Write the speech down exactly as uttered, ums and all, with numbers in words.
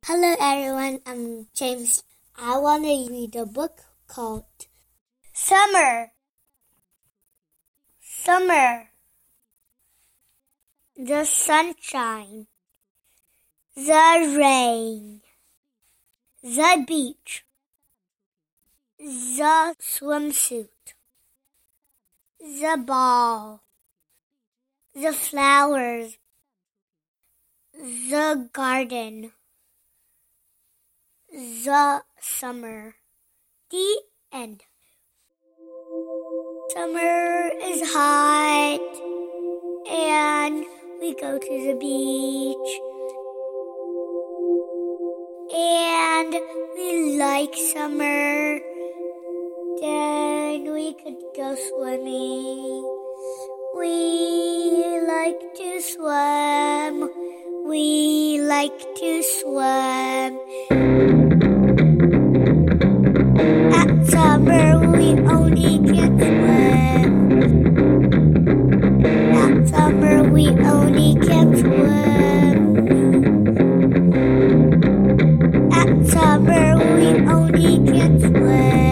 Hello everyone, I'm James. I want to read a book called Summer. Summer. The sunshine, the rain, the beach, the swimsuit, the ball, the flowers, the garden. The summer. The end. Summer is hot and we go to the beach and we like summer. Then we could go swimming. We like to swim. We like to swim. At summer we only can swim. At summer we only can swim. At summer we only can swim.